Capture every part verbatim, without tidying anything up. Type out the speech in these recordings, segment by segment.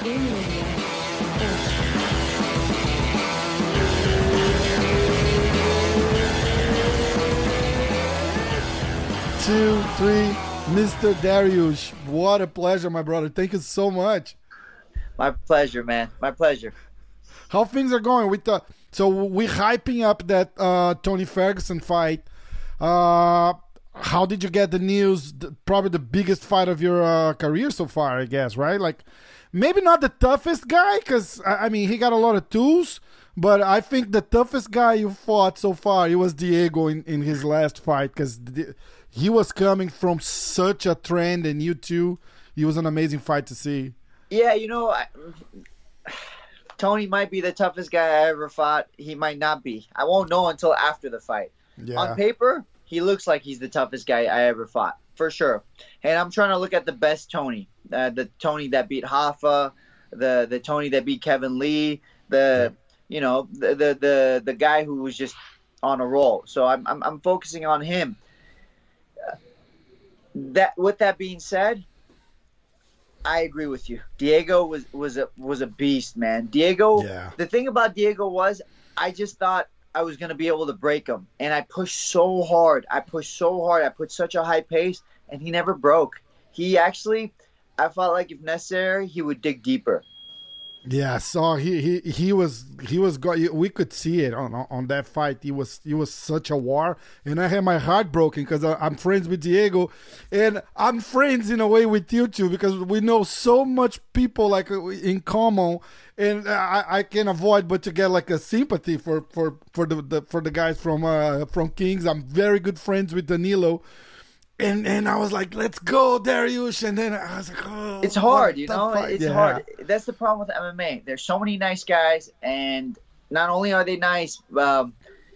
Two, three, Mister Dariush. What a pleasure, my brother. Thank you so much. My pleasure, man. My pleasure. How things are going with the? So we're hyping up that uh, Tony Ferguson fight. Uh, how did you get the news? The, probably the biggest fight of your uh, career so far, I guess, right? Like, maybe not the toughest guy, because I mean he got a lot of tools. But I think the toughest guy you fought so far, it was Diego in, in his last fight, because he was coming from such a trend, and you too. It was an amazing fight to see. Yeah, you know, I, Tony might be the toughest guy I ever fought. He might not be. I won't know until after the fight. Yeah. On paper, he looks like he's the toughest guy I ever fought, for sure. And I'm trying to look at the best Tony, uh, the Tony that beat Hoffa, the the Tony that beat Kevin Lee, the yeah. you know the, the the the guy who was just on a roll. So I'm I'm, I'm focusing on him. Uh, that with that being said, I agree with you. Diego was was a was a beast, man. Diego. Yeah. The thing about Diego was, I just thought I was gonna be able to break him, and I pushed so hard. I pushed so hard. I put such a high pace, and he never broke. He actually, I felt like if necessary, he would dig deeper. Yeah, so he he he was he was we could see it on on that fight. He was he was such a war, and I had my heart broken because I'm friends with Diego, and I'm friends in a way with you too because we know so much people like in common, and I, I can't avoid but to get like a sympathy for for for the, the for the guys from uh from Kings. I'm very good friends with Danilo. And and I was like, let's go, Dariush. And then I was like, oh. It's hard, you know? Fight. It's yeah. hard. That's the problem with M M A. There's so many nice guys, and not only are they nice, um,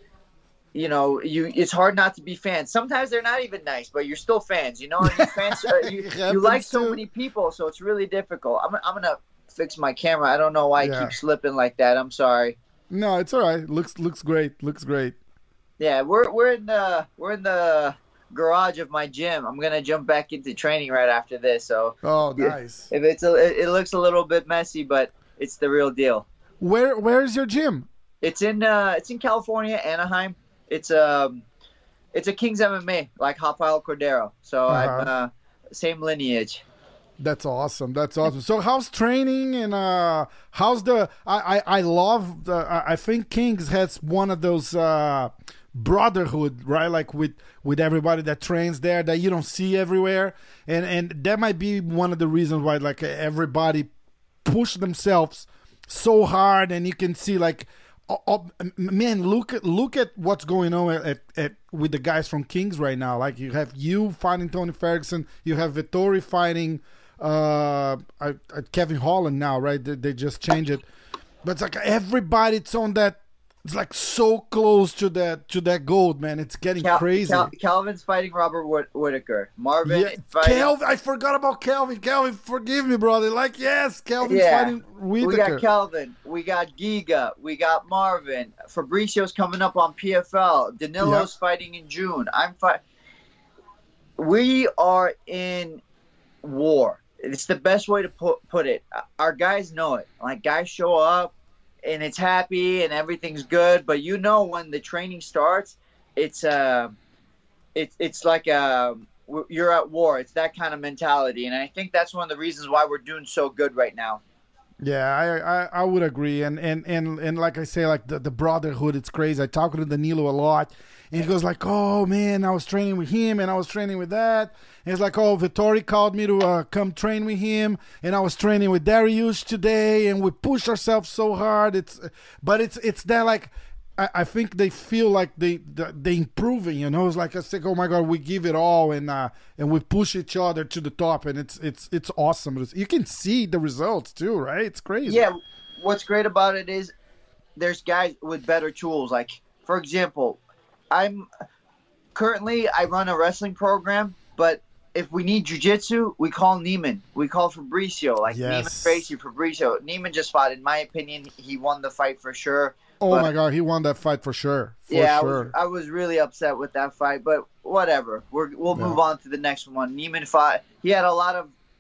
you know, you it's hard not to be fans. Sometimes they're not even nice, but you're still fans, you know? And fans, uh, you, you like so too. many people, so it's really difficult. I'm, I'm going to fix my camera. I don't know why yeah. I keep slipping like that. I'm sorry. No, it's all right. Looks looks great. Looks great. Yeah, we're we're in the we're in the garage of my gym. I'm gonna jump back into training right after this. So oh, nice. If it's a, it looks a little bit messy, but it's the real deal. Where where is your gym? It's in uh, it's in California, Anaheim. It's um, it's a Kings M M A like Rafael Cordero. So uh-huh. I'm uh, same lineage. That's awesome. That's awesome. So how's training and uh, how's the? I I, I love the. I think Kings has one of those. Uh, brotherhood, right? Like with with everybody that trains there that you don't see everywhere, and and that might be one of the reasons why like everybody push themselves so hard, and you can see like oh, oh, man, look at look at what's going on at, at, at with the guys from Kings right now. Like you have you fighting Tony Ferguson, you have Vettori fighting uh, uh Kevin Holland now, right? They, they just changed it, but it's like everybody's on that. It's like so close to that to that gold, man. It's getting Cal- crazy. Cal- Calvin's fighting Robert Whit- Whitaker. Marvin yeah. fighting... Calvin, I forgot about Calvin. Calvin, forgive me, brother. Like, yes, Calvin's yeah. fighting Whitaker. We got Calvin. We got Giga. We got Marvin. Fabricio's coming up on P F L. Danilo's yeah. fighting in June. I'm fight. We are in war. It's the best way to put put it. Our guys know it. Like, guys show up. And it's happy and everything's good, but you know when the training starts, it's uh, it's it's like a, you're at war. It's that kind of mentality, and I think that's one of the reasons why we're doing so good right now. Yeah, I I, I would agree, and, and and and like I say, like the, the brotherhood, it's crazy. I talk to Danilo a lot, and he goes like, "Oh man, I was training with him, and I was training with that." And it's like, "Oh, Vettori called me to uh, come train with him, and I was training with Dariush today, and we push ourselves so hard." It's, but it's it's that like, I, I think they feel like they they improving, you know. It's like I say, "Oh my God, we give it all, and uh, and we push each other to the top, and it's it's it's awesome." You can see the results too, right? It's crazy. Yeah, what's great about it is there's guys with better tools. Like for example, I'm currently I run a wrestling program, but if we need jiu-jitsu, we call Neiman. We call Fabricio. Like yes. Neiman Gracie, Fabricio. Neiman just fought. In my opinion, he won the fight for sure. Oh but, my God, he won that fight for sure. For yeah, sure. I was, I was really upset with that fight, but whatever. We're, we'll yeah. move on to the next one. Neiman fought. He had a lot of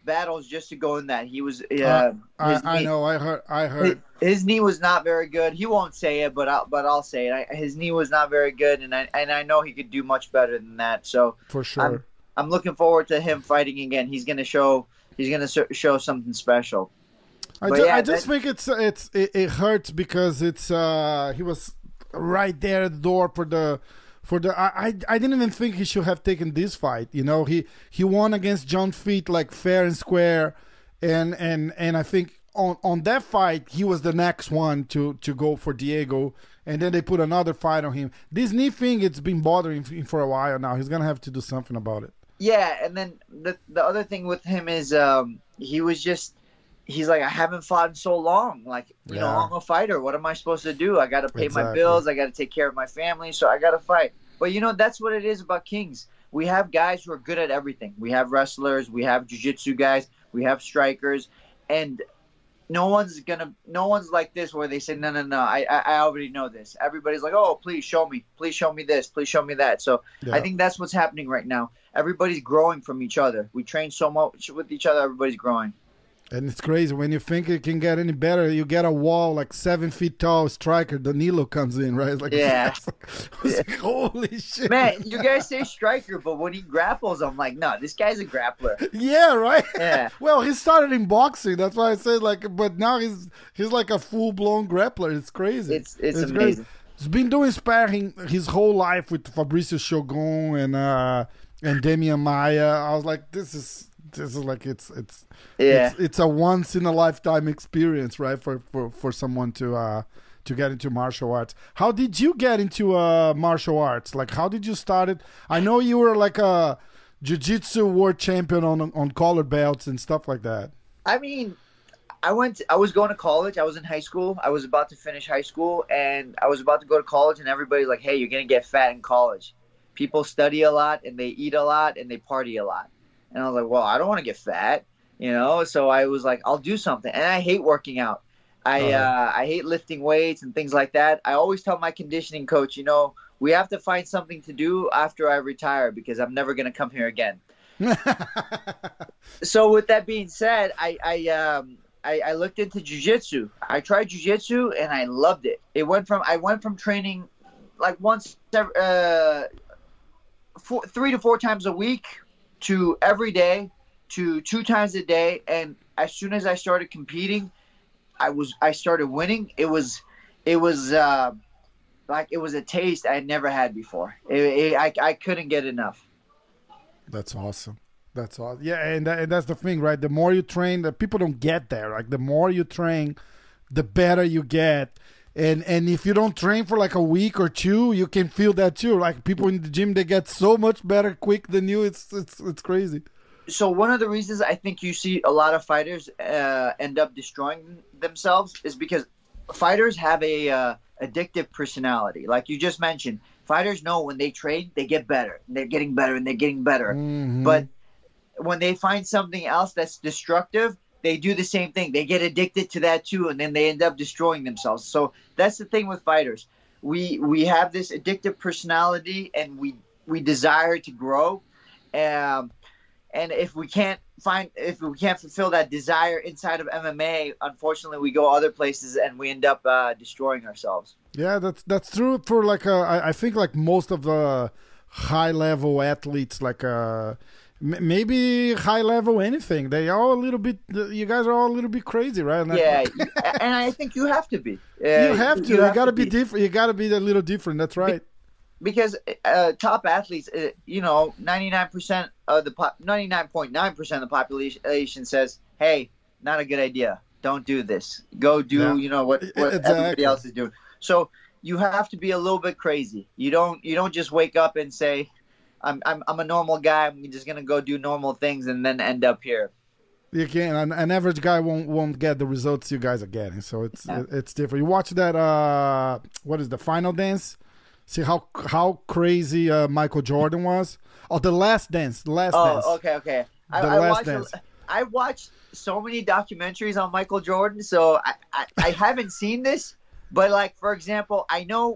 battles just to go in that. He was. Uh, uh, I, knee, I know. I heard. I heard. His, his knee was not very good. He won't say it, but I'll, but I'll say it. I, his knee was not very good, and I and I know he could do much better than that. So for sure, I'm, I'm looking forward to him fighting again. He's gonna show. He's gonna show something special. I, ju- yeah, I just that, think it's it's it, it hurts because it's uh he was right there at the door for the. For the, I, I didn't even think he should have taken this fight. You know, he, he won against John Feet like fair and square, and and and I think on, on that fight he was the next one to, to go for Diego, and then they put another fight on him. This knee thing, it's been bothering him for a while now. He's gonna have to do something about it. Yeah, and then the the other thing with him is um he was just. He's like, I haven't fought in so long. Like, you yeah. know, I'm a fighter. What am I supposed to do? I got to pay exactly. my bills. I got to take care of my family. So I got to fight. But, you know, that's what it is about Kings. We have guys who are good at everything. We have wrestlers. We have jiu-jitsu guys. We have strikers. And no one's going to – no one's like this where they say, no, no, no, I, I I already know this. Everybody's like, oh, please show me. Please show me this. Please show me that. So yeah. I think that's what's happening right now. Everybody's growing from each other. We train so much with each other. Everybody's growing. And it's crazy. When you think it can get any better, you get a wall like seven feet tall striker. Danilo comes in, right? It's like, yeah. Like, like, holy shit. Man, you guys say striker, but when he grapples, I'm like, no, this guy's a grappler. Yeah, right? Yeah. Well, he started in boxing. That's why I said, like, but now he's he's like a full-blown grappler. It's crazy. It's it's, it's amazing. Crazy. He's been doing sparring his whole life with Fabricio Shogun and, uh, and Demian Maia. I was like, this is... This is like it's it's yeah it's, it's a once in a lifetime experience, right? For for, for someone to uh to get into martial arts. How did you get into uh martial arts? Like, how did you start it? I know you were like a jiu-jitsu world champion on on collar belts and stuff like that. I mean, I went. To, I was going to college. I was in high school. I was about to finish high school, and I was about to go to college. And everybody's like, "Hey, you're gonna get fat in college. People study a lot, and they eat a lot, and they party a lot." And I was like, well, I don't want to get fat, you know? So I was like, I'll do something. And I hate working out. I uh-huh. uh, I hate lifting weights and things like that. I always tell my conditioning coach, you know, we have to find something to do after I retire because I'm never going to come here again. So with that being said, I I, um, I I looked into jiu-jitsu. I tried jiu-jitsu and I loved it. It went from I went from training like once uh, four, three to four times a week to every day, to two times a day, and as soon as I started competing, I was I started winning. It was, it was uh, like it was a taste I had never had before. It, it, I I couldn't get enough. That's awesome. That's awesome. Yeah, and, that, and that's the thing, right? The more you train, the people don't get there. Like the more you train, the better you get. And and if you don't train for like a week or two, you can feel that too. Like people in the gym, they get so much better quick than you. It's it's it's crazy. So one of the reasons I think you see a lot of fighters uh, end up destroying themselves is because fighters have a uh, addictive personality. Like you just mentioned, fighters know when they train, they get better. And they're getting better and they're getting better. Mm-hmm. But when they find something else that's destructive, they do the same thing. They get addicted to that too, and then they end up destroying themselves. So that's the thing with fighters. We we have this addictive personality, and we we desire to grow. Um, and if we can't find, if we can't fulfill that desire inside of M M A, unfortunately, we go other places and we end up uh, destroying ourselves. Yeah, that's that's true for like uh, I, I think like most of the high level athletes, like uh. Maybe high level anything. They are a little bit. You guys are all a little bit crazy, right? And yeah, and I think you have to be. Uh, you have to. You, you got to be, be different. You got to be a little different. That's right. Because uh, top athletes, uh, you know, ninety-nine percent of the pop, ninety-nine point nine percent of the population says, "Hey, not a good idea. Don't do this. Go do, yeah. you know, what, what exactly. everybody else is doing." So you have to be a little bit crazy. You don't. You don't just wake up and say, I'm I'm I'm a normal guy. I'm just gonna go do normal things and then end up here. You can. An, an average guy won't won't get the results you guys are getting. So it's yeah. it, it's different. You watch that. Uh, what is the Final Dance? See how how crazy uh, Michael Jordan was. Oh, the Last Dance. The Last oh, Dance. Oh, okay, okay. The I, I Last watched Dance. A, I watched so many documentaries on Michael Jordan. So I, I I haven't seen this, but like for example, I know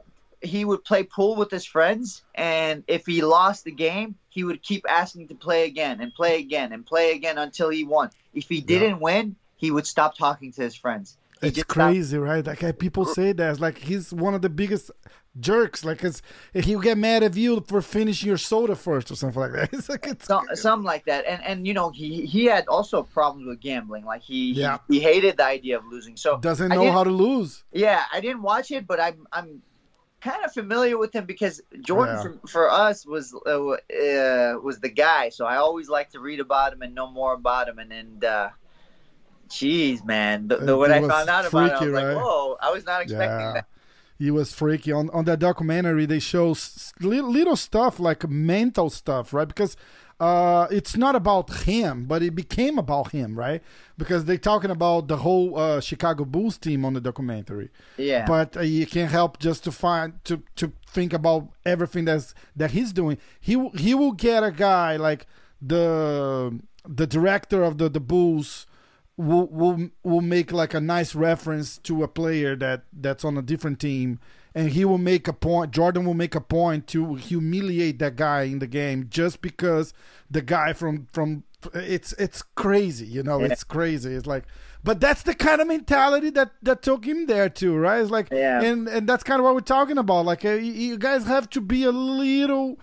he would play pool with his friends, and if he lost the game, he would keep asking to play again and play again and play again until he won. If he didn't yeah. win, he would stop talking to his friends. He it's crazy, stopped. right? Like people say that. It's like he's one of the biggest jerks. Like it's, he'll get mad at you for finishing your soda first or something like that. It's like it's so, something like that. And and you know he he had also problems with gambling. Like he yeah. he, he hated the idea of losing. So doesn't know how to lose. Yeah, I didn't watch it, but I'm I'm kind of familiar with him because Jordan yeah. for, for us was uh, uh, was the guy. So I always like to read about him and know more about him. And and uh, Jeez, man. The, the, when I found out freaky, about it, I was right? like, whoa, I was not expecting yeah. that. He was freaky. On on that documentary, they show s- little, little stuff, like mental stuff, right? Because uh, it's not about him, but it became about him, right? Because they're talking about the whole uh, Chicago Bulls team on the documentary. Yeah. But uh, you can't help just to find, to, to think about everything that's, that he's doing. He, he will get a guy like the, the director of the, the Bulls, Will, will will make like a nice reference to a player that, that's on a different team, and he will make a point. Jordan will make a point to humiliate that guy in the game just because the guy from from it's it's crazy, you know. Yeah. It's crazy. It's like, but that's the kind of mentality that, that took him there too, right? It's like, yeah. and and that's kind of what we're talking about. Like, uh, you guys have to be a little.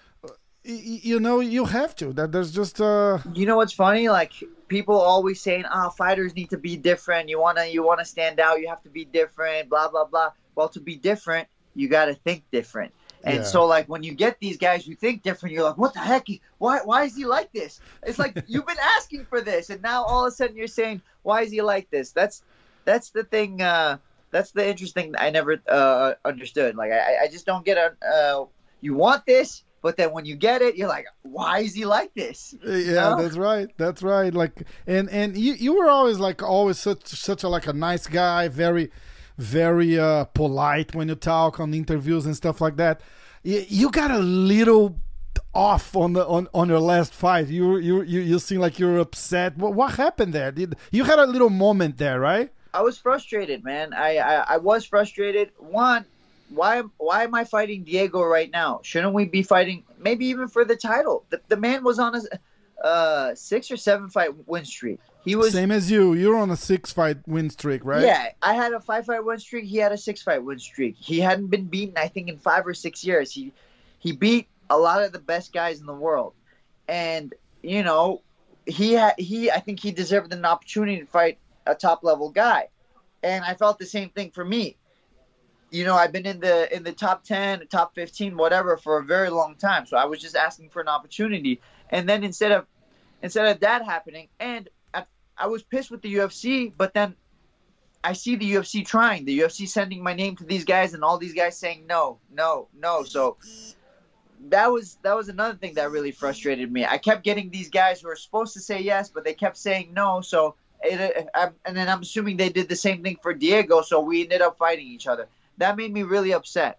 You know, you have to. That there's just uh. You know what's funny? Like people always saying, "Ah, oh, fighters need to be different. You wanna, you wanna stand out. You have to be different." Blah blah blah. Well, to be different, you got to think different. And yeah. so, like when you get these guys who think different, you're like, "What the heck? Why? Why is he like this?" It's like you've been asking for this, and now all of a sudden you're saying, "Why is he like this?" That's that's the thing. Uh, that's the interesting. I never uh, understood. Like I, I just don't get a. Uh, you want this. But then when you get it, you're like, why is he like this? You yeah, know? that's right. That's right. Like, and and you, you were always like always such such a like a nice guy, very, very uh, polite when you talk on interviews and stuff like that. You, you got a little off on the on, on your last fight. You you you you seem like you were upset. What what happened there? Did you had a little moment there, right? I was frustrated, man. I I, I was frustrated. One. Why why am I fighting Diego right now? Shouldn't we be fighting maybe even for the title? The, the man was on a uh, six or seven fight win streak. He was same as you. You're on a six fight win streak, right? Yeah, I had a five fight win streak. He had a six fight win streak. He hadn't been beaten, I think, in five or six years. He he beat a lot of the best guys in the world, and you know he had he. I think he deserved an opportunity to fight a top level guy, and I felt the same thing for me. You know, I've been in the in the top ten, top fifteen, whatever, for a very long time. So I was just asking for an opportunity, and then instead of instead of that happening, and I, I was pissed with the U F C. But then I see the U F C trying, the U F C sending my name to these guys, and all these guys saying no, no, no. So that was that was another thing that really frustrated me. I kept getting these guys who were supposed to say yes, but they kept saying no. So it, I, and then I'm assuming they did the same thing for Diego. So we ended up fighting each other. That made me really upset.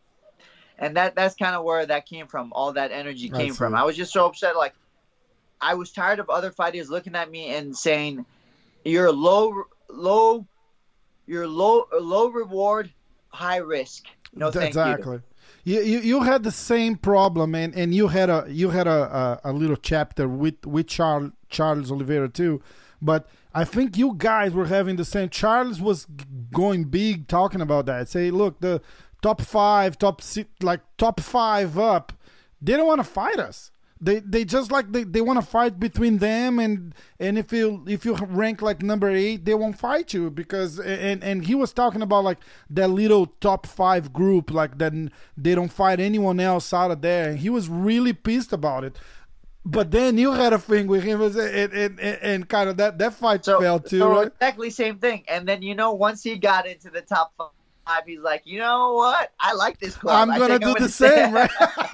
And that that's kind of where that came from. All that energy came that's from. it. I was just so upset. Like, I was tired of other fighters looking at me and saying, you're low, low, you're low, low reward, high risk. No, thank exactly. you. You, you you had the same problem, and, and you had a you had a, a, a little chapter with with Charles Charles Oliveira too, but I think you guys were having the same. Charles was g- going big, talking about that. Say, look, the top five, top six, like top five up, they don't want to fight us. They they just like they, they want to fight between them, and and if you if you rank like number eight, they won't fight you because and and he was talking about like that little top five group, like that they don't fight anyone else out of there. And he was really pissed about it. But then you had a thing with him, and, and, and, and kind of that, that fight so, fell too, so right? Exactly same thing. And then, you know, once he got into the top five, he's like, you know what? I like this club. I'm going to do the same, right?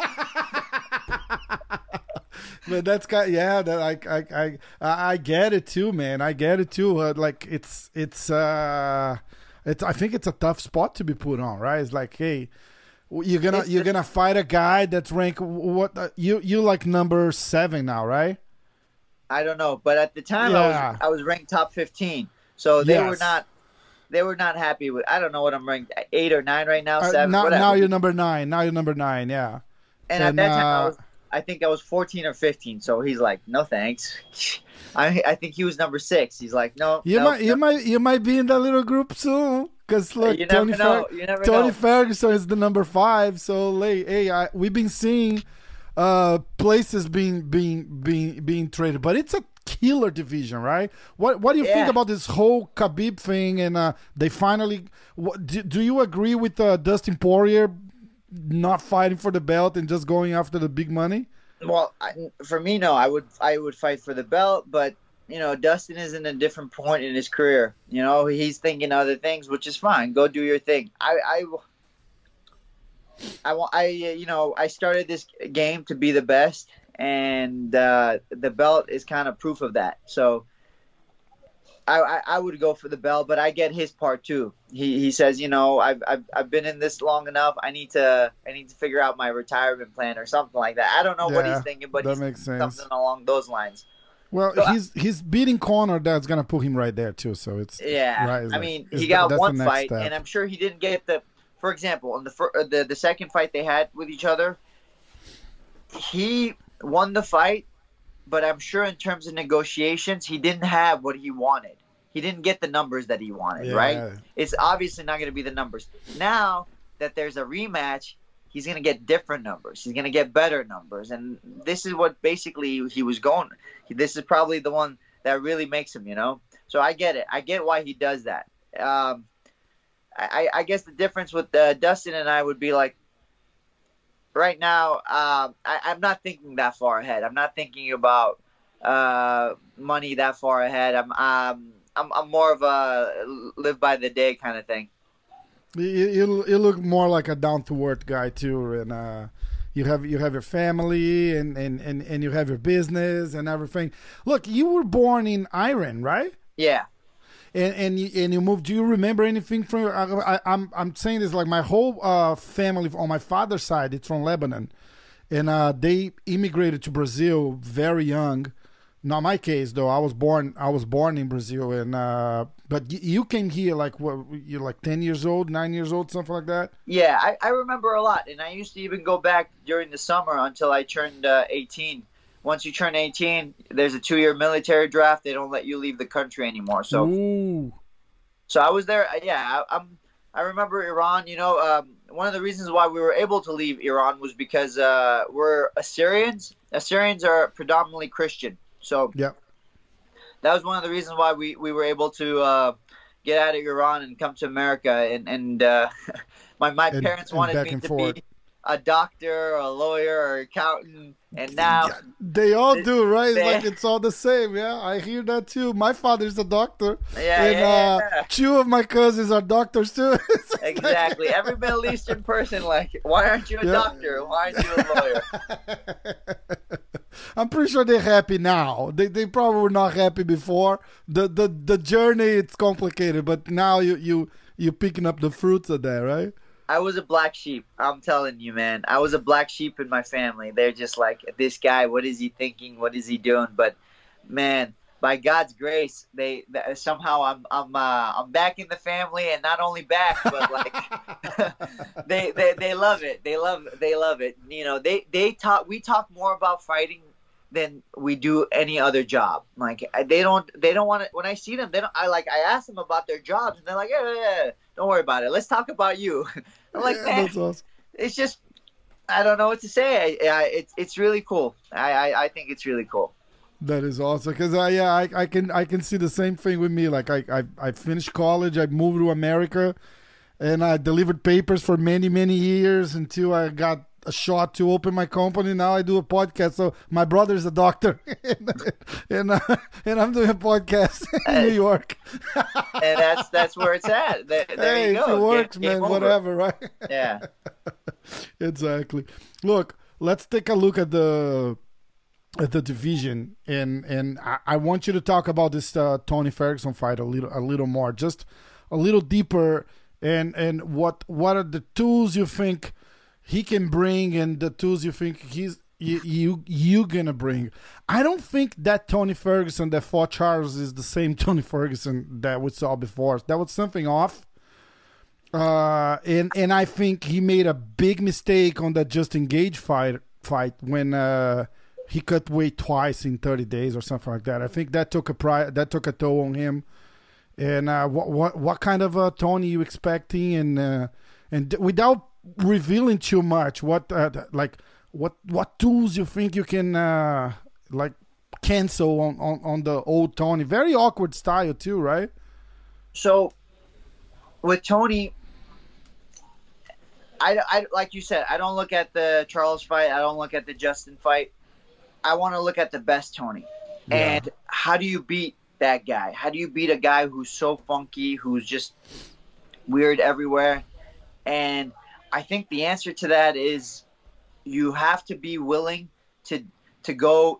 But that's kind of, yeah, that I, I, I, I get it too, man. I get it too. Uh, like, it's, it's, uh, it's, I think it's a tough spot to be put on, right? It's like, hey, You're gonna it's you're the, gonna fight a guy that's ranked what uh, you you like number seven now, right? I don't know, but at the time yeah. I was I was ranked top fifteen, so they yes. were not they were not happy with. I don't know what I'm ranked, eight or nine right now, Uh, seven. now, whatever. now you're number nine. Now you're number nine. Yeah. And, And, at that time, I uh, was, I think I was fourteen or fifteen. So he's like, no thanks. I I think he was number six. He's like, no. You no, might, no. you might, you might be in that little group soon. Cause look, You never Tony, know. Fer- You never Tony know. Ferguson is the number five. So, hey, hey I, we've been seeing uh, places being being being being traded, but it's a killer division, right? What What do you Yeah. think about this whole Khabib thing? And uh, they finally, what, do, do you agree with uh, Dustin Poirier not fighting for the belt and just going after the big money? Well, I, for me, no. I would I would fight for the belt, but you know, Dustin is in a different point in his career. You know, he's thinking other things, which is fine. Go do your thing. I, I, I want. I, uh, you know, I started this game to be the best, and uh, the belt is kind of proof of that. So, I, I, I would go for the belt, but I get his part too. He, he says, you know, I've, I've, I've been in this long enough. I need to, I need to figure out my retirement plan or something like that. I don't know what Yeah, he's thinking, but that he's makes thinking sense. something along those lines. Well, So I- he's he's beating Conor. That's gonna put him right there too. So it's Yeah, right, it's I like- mean, it's he the- got that's the one next fight, step. and I'm sure he didn't get the. For example, in the fir- uh, the the second fight they had with each other, he won the fight, but I'm sure in terms of negotiations, he didn't have what he wanted. He didn't get the numbers that he wanted, Yeah. right? It's obviously not going to be the numbers. Now that there's a rematch, he's going to get different numbers. He's going to get better numbers, and this is what basically he was going. This is probably the one that really makes him, you know. So I get it. I get why he does that. Um, I, I guess the difference with uh, Dustin and I would be like, right now, um, I, I'm not thinking that far ahead. I'm not thinking about uh, money that far ahead. I'm, um, I'm, I'm more of a live by the day kind of thing. You, you, you look more like a down to earth guy too, and uh, you have you have your family and, and, and, and you have your business and everything. Look, you were born in Iran, right? Yeah. And and you, and you moved. Do you remember anything from? I, I, I'm I'm saying this like my whole uh, family on my father's side. It's from Lebanon, and uh, they immigrated to Brazil very young. Not my case though. I was born. I was born in Brazil, and uh, but you, you came here like what? You're like ten years old, nine years old, something like that. Yeah, I, I remember a lot, and I used to even go back during the summer until I turned uh, eighteen. Once you turn eighteen, there's a two-year military draft. They don't let you leave the country anymore. So, Ooh. so I was there. Yeah, I, I'm. I remember Iran. You know, um, one of the reasons why we were able to leave Iran was because uh, we're Assyrians. Assyrians are predominantly Christian. So Yeah. that was one of the reasons why we, we were able to uh, get out of Iran and come to America. And and uh, my my And- parents and wanted back me and to forth. be a doctor, or a lawyer, or accountant. And now, They all They- do, right? It's they- like it's all the same. Yeah, I hear that too. My father's a doctor, yeah, and yeah, uh, yeah. two of my cousins are doctors too. It's like- Exactly. Every Middle Eastern person, like, why aren't you a Yeah. doctor? Why aren't you a lawyer? I'm pretty sure they're happy now. They they probably were not happy before. The the the journey it's complicated, but now you you you picking up the fruits of that, right? I was a black sheep. I'm telling you, man. I was a black sheep in my family. They're just like, this guy, what is he thinking? What is he doing? But, man, by God's grace, they, they somehow I'm I'm uh, I'm back in the family, and not only back, but like they, they they love it. They love they love it. You know, they they talk. We talk more about fighting than we do any other job. Like they don't they don't want to. When I see them, they don't. I like I ask them about their jobs, and they're like, yeah, yeah, yeah. Don't worry about it. Let's talk about you. I'm like, Yeah, man, that's awesome. it's just, I don't know what to say. I, I, it's it's really cool. I, I, I think it's really cool. That is awesome because I yeah I, I can I can see the same thing with me. Like I, I I finished college, I moved to America, and I delivered papers for many many years until I got a shot to open my company. Now I do a podcast. So my brother's a doctor, and and, uh, and I'm doing a podcast in New York. And that's that's where it's at. There, there Hey, you if go. it works, Game- game man, over. whatever, right? Yeah. Exactly. Look, let's take a look at the at the division, and and I, I want you to talk about this uh, Tony Ferguson fight a little a little more, just a little deeper, and and what what are the tools you think he can bring, and the tools you think he's you you you gonna bring. I don't think that Tony Ferguson that fought Charles is the same Tony Ferguson that we saw before. That was something off. Uh, and and I think he made a big mistake on that Justin Gage fight fight when uh, he cut weight twice in thirty days or something like that. I think that took a pri- that took a toll on him. And uh, what what what kind of uh, Tony you expecting? And uh, and without revealing too much, what uh, like what what tools you think you can uh, like cancel on, on, on the old Tony? Very awkward style too, right? So with Tony, I, I like you said, I don't look at the Charles fight. I don't look at the Justin fight. I want to look at the best Tony. Yeah. And how do you beat that guy? How do you beat a guy who's so funky, who's just weird everywhere? And I think the answer to that is you have to be willing to to go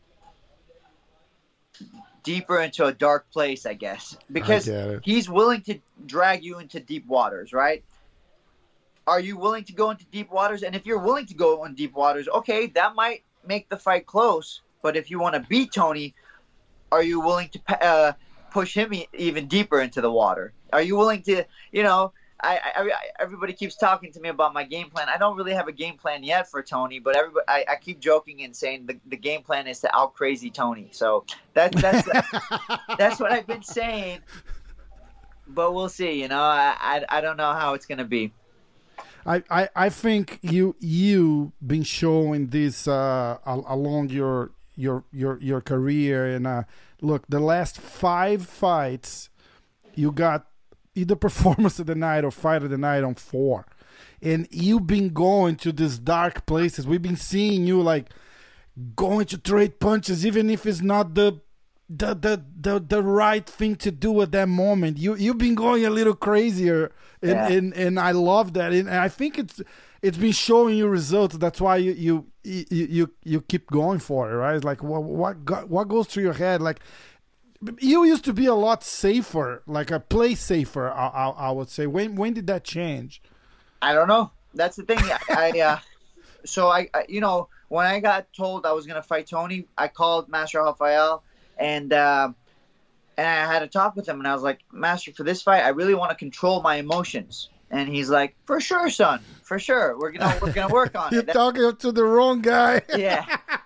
deeper into a dark place, I guess, because I he's willing to drag you into deep waters, right? Are you willing to go into deep waters? And if you're willing to go in deep waters, okay, that might make the fight close. But if you want to beat Tony, are you willing to uh, push him e- even deeper into the water? Are you willing to, you know, I, I, I, everybody keeps talking to me about my game plan. I don't really have a game plan yet for Tony, but everybody, I, I keep joking and saying the, the game plan is to out crazy Tony. So that, that's that's what I've been saying. But we'll see. You know, I I, I don't know how it's gonna be. I, I, I think you you been showing this uh, along your your your your career, and uh, look, the last five fights you got either performance of the night or fight of the night on four, and you've been going to these dark places. We've been seeing you like going to trade punches, even if it's not the the the the, the right thing to do at that moment. You you've been going a little crazier. And, yeah. and and I love that, and I think it's it's been showing you results. That's why you you you you, you keep going for it, right? Like what what go, what goes through your head? Like you used to be a lot safer, like a play safer. I, I, I would say. When when did that change? I don't know. That's the thing. I, I uh, so I, I you know when I got told I was gonna fight Tony, I called Master Rafael and. Uh, And I had a talk with him, and I was like, Master, for this fight, I really want to control my emotions. And he's like, for sure, son, for sure. We're gonna we're gonna work on You're it. You're talking to the wrong guy. Yeah.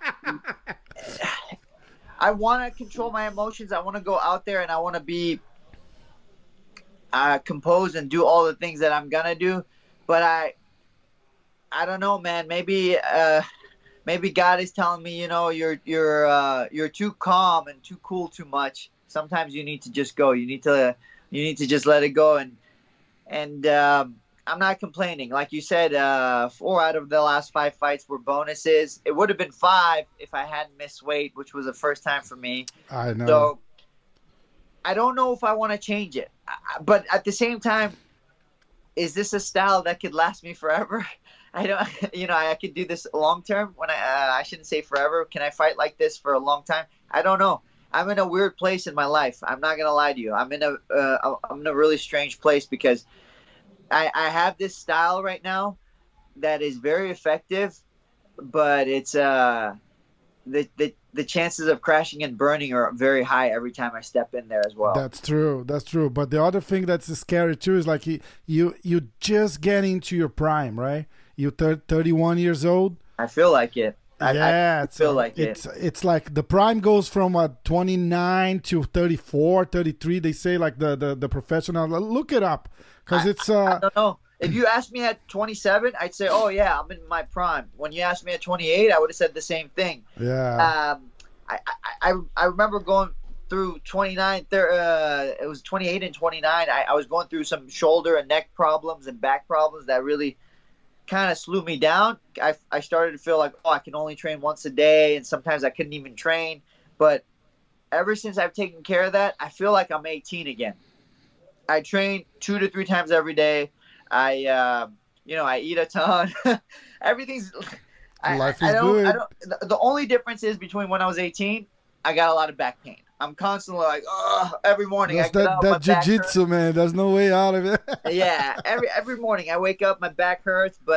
I want to control my emotions. I want to go out there, and I want to be uh, composed and do all the things that I'm gonna do. But I, I don't know, man. Maybe, uh, maybe God is telling me, you know, you're you're uh, you're too calm and too cool too much. Sometimes you need to just go. You need to you need to just let it go. And and um, I'm not complaining. Like you said, uh, four out of the last five fights were bonuses. It would have been five if I hadn't missed weight, which was the first time for me. I know. So I don't know if I want to change it. But at the same time, is this a style that could last me forever? I don't. You know, I could do this long term. When I uh, I shouldn't say forever. Can I fight like this for a long time? I don't know. I'm in a weird place in my life. I'm not gonna lie to you. I'm in a uh, I'm in a really strange place because I, I have this style right now that is very effective, but it's uh the the the chances of crashing and burning are very high every time I step in there as well. That's true. That's true. But the other thing that's scary too is like you you you just get into your prime, right? You're thirty-one years old. I feel like it. I, yeah, I feel like it's it. it's like the prime goes from uh, twenty-nine to thirty-four, thirty-three. They say like the the, the professional. Look it up because it's. Uh, I don't know. If you asked me at twenty-seven, I'd say, "Oh yeah, I'm in my prime." When you asked me at twenty-eight, I would have said the same thing. Yeah. Um, I I I, I remember going through twenty-nine. There, uh, it was twenty-eight and twenty-nine. I, I was going through some shoulder and neck problems and back problems that really kind of slew me down. I, I started to feel like, oh, I can only train once a day, and sometimes I couldn't even train. But ever since I've taken care of that, I feel like I'm eighteen again. I train two to three times every day. I, uh, you know, I eat a ton. Everything's. I, Life I, is I don't, good. I don't. The, the only difference is between when I was eighteen, I got a lot of back pain. I'm constantly like, oh, every morning That's I get that, up, that my back jiu-jitsu, hurts. man. There's no way out of it. Yeah, every every morning I wake up, my back hurts, but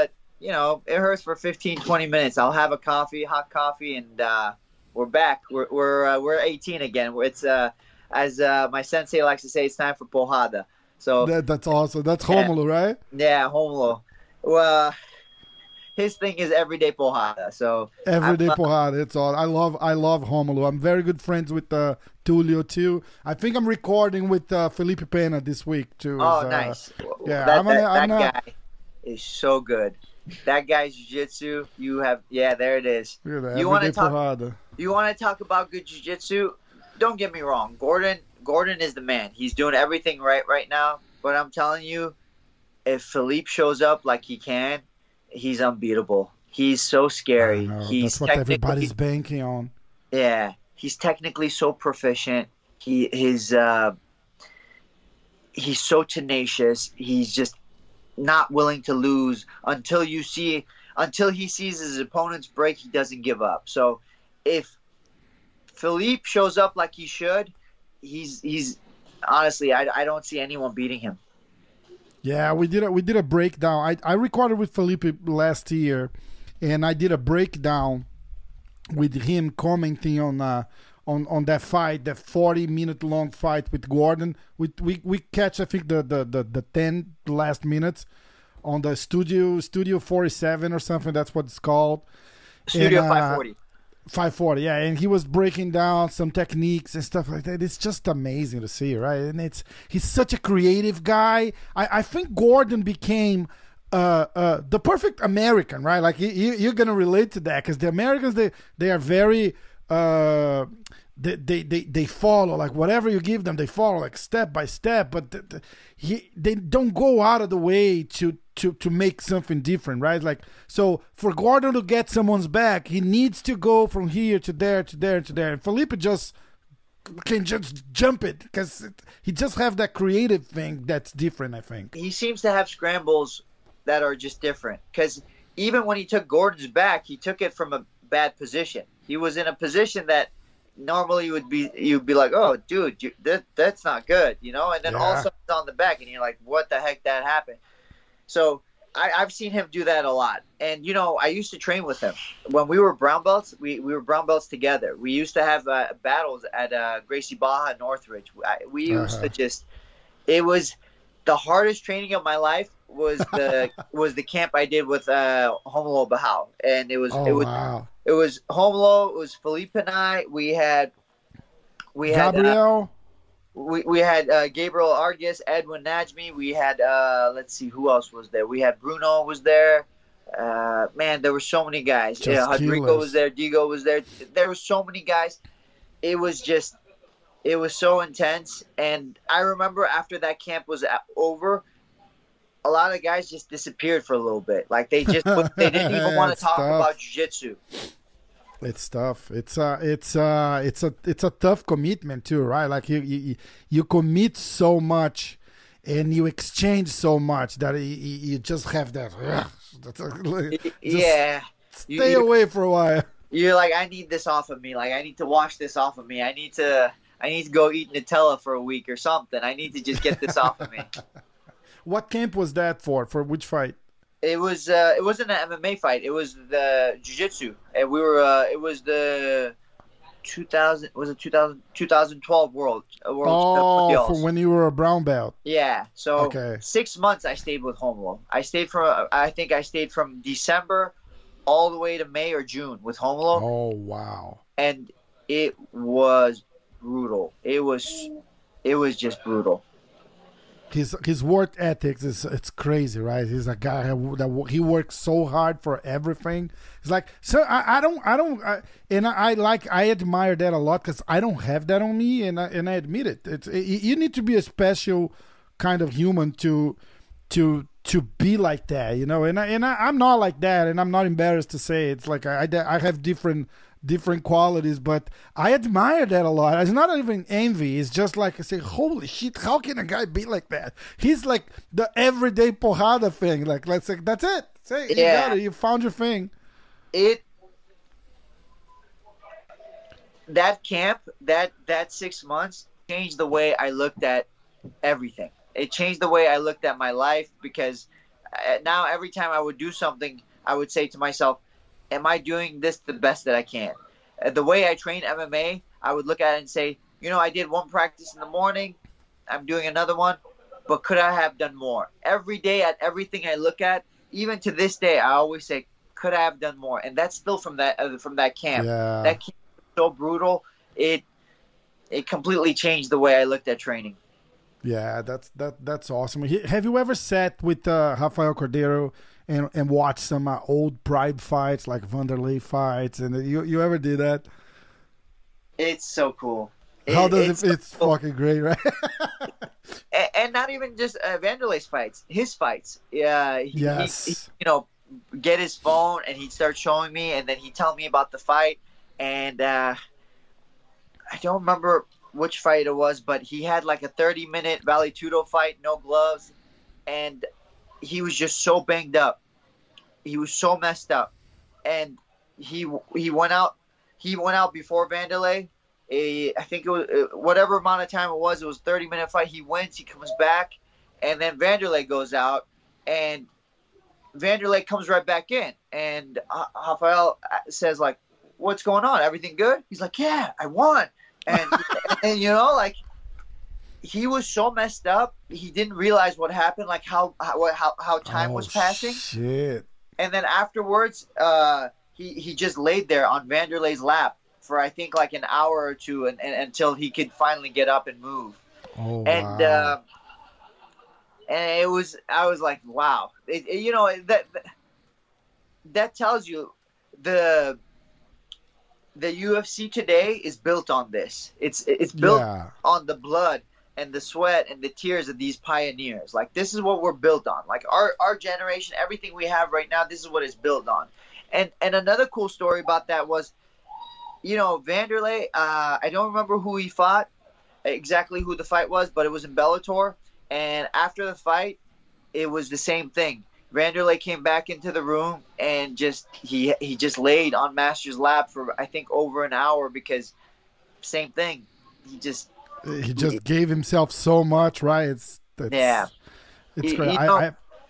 you know, it hurts for fifteen, twenty minutes. I'll have a coffee, hot coffee, and uh, we're back. We're we're uh, we're eighteen again. It's uh, as uh, my sensei likes to say, it's time for porrada. So that, that's awesome. That's Romulo, right? Yeah, Romulo. Well, his thing is everyday porrada. So everyday I'm, porrada. It's all. I love. I love Romulo. I'm very good friends with uh, Tulio too. I think I'm recording with uh, Felipe Pena this week too. Oh, uh, nice. Yeah, that, I'm that, gonna, I'm that not, guy is so good. That guy's jiu-jitsu. You have, yeah, there it is. Yeah, you want to talk? Porrada. You want to talk about good jiu-jitsu? Don't get me wrong. Gordon, Gordon is the man. He's doing everything right right now. But I'm telling you, if Philippe shows up like he can, he's unbeatable. He's so scary. He's That's what everybody's banking on. Yeah, he's technically so proficient. He his uh, he's so tenacious. He's just not willing to lose until you see until he sees his opponent's break. He doesn't give up. So if Philippe shows up like he should, he's he's honestly I, I don't see anyone beating him. Yeah, we did a we did a breakdown. I I recorded with Felipe last year, and I did a breakdown with him commenting on uh on, on that fight, that forty minute long fight with Gordon. We we, we catch I think the, the, the, the ten last minutes on the studio studio forty-seven or something. That's what it's called. Studio and, uh, five forty. five forty, yeah, and he was breaking down some techniques and stuff like that. It's just amazing to see, right? And it's he's such a creative guy. I, I think Gordon became uh, uh, the perfect American, right? Like you, you're gonna relate to that because the Americans they they are very uh, they, they they they follow like whatever you give them, they follow like step by step. But the, the, he they don't go out of the way to. To, to make something different, right? Like, so for Gordon to get someone's back, he needs to go from here to there to there to there. And Felipe just can just jump it because he just have that creative thing that's different, I think. He seems to have scrambles that are just different because even when he took Gordon's back, he took it from a bad position. He was in a position that normally would be you'd be like, oh, dude, you, that that's not good, you know. And then yeah. all of a sudden it's on the back, and you're like, what the heck that happened? So I, I've seen him do that a lot. And, you know, I used to train with him. When we were brown belts, we, we were brown belts together. We used to have uh, battles at uh, Gracie Barra, Northridge. I, we used uh-huh. to just – it was the hardest training of my life was the was the camp I did with uh, Romulo Barral. And it was oh, it was wow. it was Romulo, it was Felipe and I. We had – we had Gabriel. Uh, We we had uh, Gabriel Argus, Edwin Najmi. We had uh, let's see who else was there. We had Bruno was there. Uh, man, there were so many guys. Just yeah, Rodrigo killers. was there. Diego was there. There were so many guys. It was just, it was so intense. And I remember after that camp was over, a lot of guys just disappeared for a little bit. Like they just they didn't even want to talk tough. about jiu-jitsu. It's tough. It's uh it's uh it's a it's a tough commitment too, right? Like you you, you commit so much and you exchange so much that you, you just have that. Just yeah. Stay you, away for a while. You're like, I need this off of me. Like I need to wash this off of me. I need to I need to go eat Nutella for a week or something. I need to just get this off of me. What camp was that for? For which fight? It was uh, it wasn't an M M A fight. It was the jiu-jitsu, and we were. Uh, it was the two thousand. Was it two thousand, twenty twelve World World Oh, for when you were a brown belt. Yeah. So okay. six months I stayed with Romulo. I stayed from. I think I stayed from December all the way to May or June with Romulo. Oh wow! And it was brutal. It was. It was just brutal. His his work ethics is it's crazy, right? He's a guy that he works so hard for everything. It's like so I, I don't I don't I, and I, I like I admire that a lot because I don't have that on me, and I, and I admit it. It's it, you need to be a special kind of human to to to be like that, you know. And I, and I, I'm not like that, and I'm not embarrassed to say it. It's like I I have different. different qualities, but I admire that a lot. It's not even envy. It's just like I say, holy shit, how can a guy be like that? He's like the everyday porrada thing. Like, let's say, that's it. Say, you yeah. got it. You found your thing. It, that camp, that, that six months changed the way I looked at everything. It changed the way I looked at my life because now every time I would do something I would say to myself, am I doing this the best that I can? Uh, the way I train M M A, I would look at it and say, you know, I did one practice in the morning, I'm doing another one, but could I have done more? Every day at everything I look at, even to this day, I always say, could I have done more? And that's still from that uh, from that camp. Yeah. That camp was so brutal. It it completely changed the way I looked at training. Yeah, that's that that's awesome. He, have you ever sat with uh, Rafael Cordeiro and and watched some uh, old Pride fights, like Vanderlei fights, and you you ever did that? It's so cool. How It- does it's it? It's so cool. fucking great, right? and, and not even just uh, Vanderlei's fights, his fights. Yeah, he, Yes. he, he, you know, get his phone and he'd start showing me, and then he'd tell me about the fight. And uh, I don't remember which fight it was, but he had like a thirty minute Vale Tudo fight, no gloves, and he was just so banged up. He was so messed up, and he he went out. He went out before Vanderlei. A, I think it was uh, whatever amount of time it was. It was a thirty minute fight. He wins. He comes back, and then Vanderlei goes out, and Vanderlei comes right back in. And uh, Rafael says like, "What's going on? Everything good?" He's like, "Yeah, I won." And and you know, like, he was so messed up. He didn't realize what happened, like how how how, how time Oh, was passing. Shit. And then afterwards, uh, he he just laid there on Vanderlei's lap for I think like an hour or two, and, and until he could finally get up and move. Oh, And wow. uh, and it was I was like, wow, it, it- you know that that tells you the the U F C today is built on this. It's it's built Yeah. on the blood and the sweat and the tears of these pioneers. Like, this is what we're built on. Like, our our generation, everything we have right now, this is what it's built on. And and another cool story about that was, you know, Vanderlei, uh, I don't remember who he fought, exactly who the fight was, but it was in Bellator. And after the fight, it was the same thing. Vanderlei came back into the room and just he he just laid on Master's lap for I think over an hour, because same thing. He just He just gave himself so much, right? It's, it's Yeah. It's You- great. you I, know- I,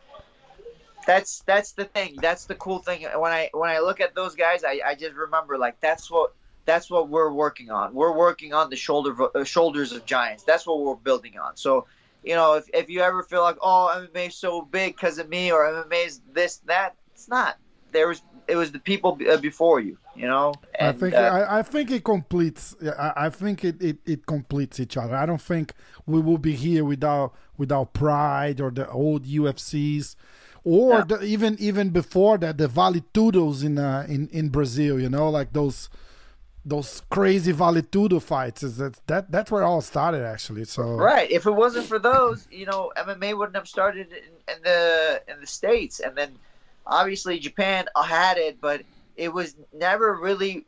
that's that's the thing. That's the cool thing. When I when I look at those guys, I, I just remember like that's what that's what we're working on. We're working on the shoulder uh, shoulders of giants. That's what we're building on. So, you know, if if you ever feel like, oh, M M A is so big because of me, or M M A is this that, it's not. There was it was the people b- uh, before you. You know. I And, think uh, I, I think it completes. yeah, I, I think it, it, it completes each other. I don't think we will be here without without Pride or the old U F Cs, or Yeah. the, even even before that, the Vale Tudos in uh, in in Brazil. You know, like those those crazy Vale Tudo fights. Is that that that's where it all started actually. So Right. If it wasn't for those, you know, M M A wouldn't have started in, in the in the States, and then obviously Japan had it, but it was never really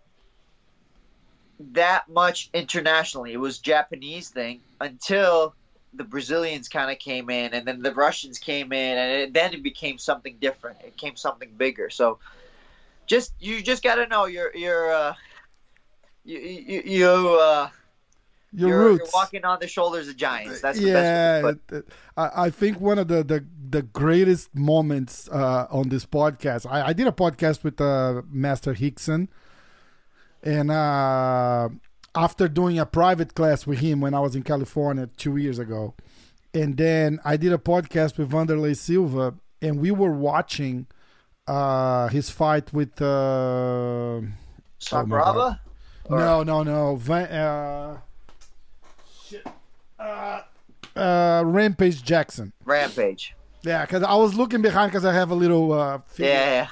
that much internationally. It was Japanese thing until the Brazilians kind of came in, and then the Russians came in, and it, then it became something different. It became something bigger. So, just you just got to know you're you're uh, you you, you uh, your you're, roots. you're walking on the shoulders of giants. That's the yeah, best way to put it. it- I, I think one of the, the, the greatest moments uh, on this podcast, I, I did a podcast with uh, Master Hickson, and uh, after doing a private class with him when I was in California two years ago, and then I did a podcast with Vanderlei Silva, and we were watching uh, his fight with... Uh, Sakuraba? Or- no, no, no. Van, uh, shit. Uh, uh, Rampage Jackson. Rampage. Yeah, because I was looking behind because I have a little. Uh, figure. Yeah.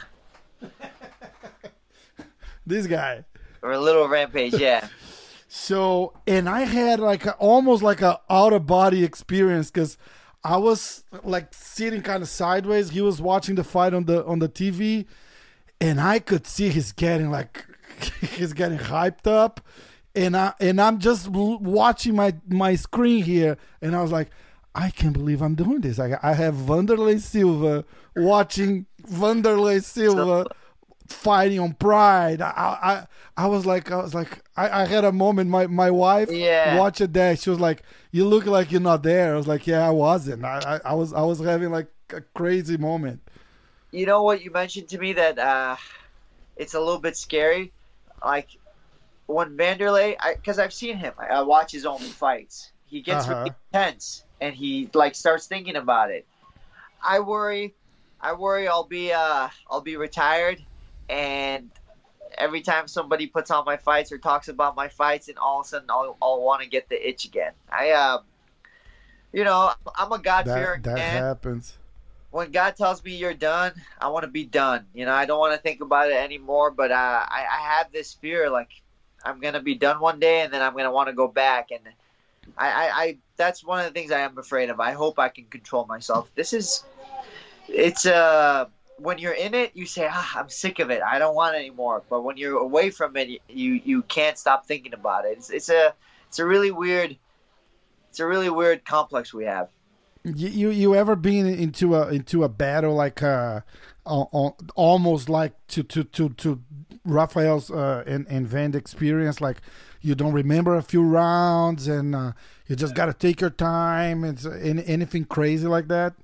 This guy. Or a little Rampage, yeah. So, and I had like a, almost like a out of body experience because I was like sitting kind of sideways. He was watching the fight on the on the T V, and I could see he's getting like he's getting hyped up, and I and I'm just l- watching my my screen here, and I was like, I can't believe I'm doing this. I I have Vanderlei Silva watching Vanderlei Silva fighting on Pride. I I I was like I was like I, I had a moment. My my wife Yeah. watched that. She was like, "You look like you're not there." I was like, "Yeah, I wasn't. I I, I was I was having like a crazy moment." you know what you mentioned to me that uh, it's a little bit scary, like when Vanderlei, because I've seen him, I, I watch his own fights. He gets Uh-huh. really tense and he like starts thinking about it. I worry, I worry I'll be uh, I'll be retired, and every time somebody puts on my fights or talks about my fights, and all of a sudden I'll, I'll want to get the itch again. I, uh, you know, I'm a God-fearing That that man. happens. When God tells me you're done, I want to be done. You know, I don't want to think about it anymore. But uh, I, I have this fear, like I'm gonna be done one day, and then I'm gonna want to go back. And I, I, I, that's one of the things I am afraid of. I hope I can control myself. This is, it's uh, when you're in it, you say, ah, I'm sick of it. I don't want it anymore. But when you're away from it, you, you can't stop thinking about it. It's, it's a, it's a really weird, it's a really weird complex we have. You, you you ever been into a into a battle like uh, uh, uh almost like to to to to Rafael's uh, and and Van experience, like you don't remember a few rounds and uh, you just got to take your time? It's any, anything crazy like that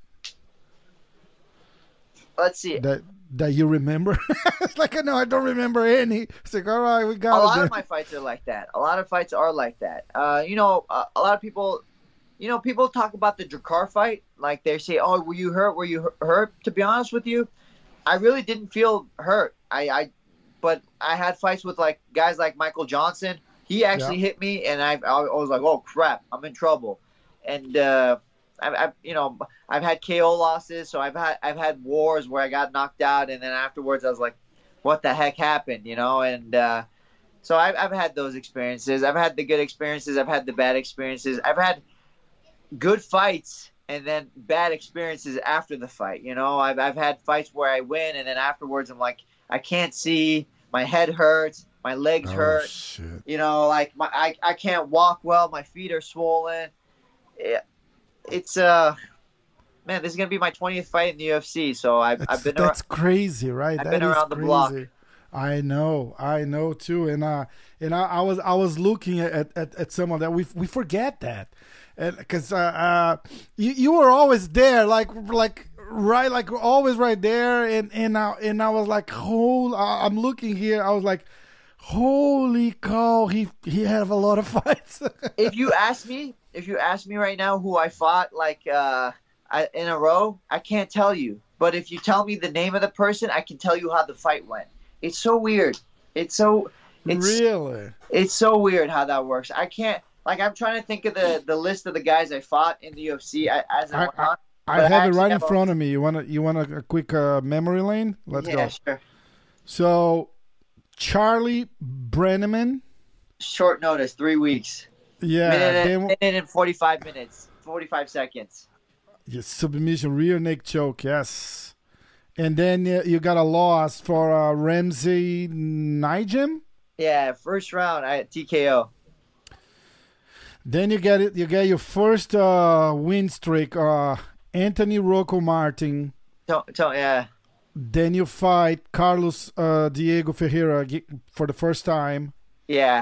Let's see. that that you remember? It's like no, I don't remember any. It's like all right, we A got lot it. of my fights are like that. A lot of fights are like that. Uh, you know, uh, a lot of people, you know, people talk about the Drakkar fight. Like they say, oh, were you hurt? Were you hu- hurt? To be honest with you, I really didn't feel hurt. I, I but I had fights with like guys like Michael Johnson. He actually Yeah. hit me, and I, I was like, oh crap, I'm in trouble. And uh, I've, I've, you know, I've had K O losses, so I've had, I've had wars where I got knocked out, and then afterwards I was like, what the heck happened, you know? And uh, so I've, I've had those experiences. I've had the good experiences. I've had the bad experiences. I've had good fights and then bad experiences after the fight. You know, I've I've had fights where I win, and then afterwards I'm like, I can't see, my head hurts, my legs Oh hurt. shit! You know, like my I, I can't walk well, my feet are swollen. It, it's uh, man, this is gonna be my twentieth fight in the U F C, so I've That's, I've been that's around, crazy, right? I've That been is around the crazy. block. I know, I know too, and uh, and I, I was I was looking at, at, at some of that. We we forget that, and because uh, uh, you you were always there, like like right, like always right there, and and I, and I was like, hold, I'm looking here. I was like, holy cow, he he had a lot of fights. If you ask me, if you ask me right now who I fought like uh, I, in a row, I can't tell you. But if you tell me the name of the person, I can tell you how the fight went. It's so weird. It's so it's Really? it's so weird how that works. I can't like I'm trying to think of the, the list of the guys I fought in the U F C as it I, went on. I but I have it actually right in have a- front of me. You want to you want a, a quick uh, memory lane? Let's yeah, go. sure. So, Charlie Brenneman. Short notice, three weeks. Yeah, minute, and, then, minute and forty-five minutes, forty-five seconds. yes, submission, rear neck choke, yes. And then uh, you got a loss for uh, Ramsey Nijim. Yeah, first round, I T K O. Then you get it. You get your first uh, win streak, uh, Anthony Rocco Martin. Don't, don't, yeah. Then you fight Carlos uh, Diego Ferreira ge- for the first time. Yeah.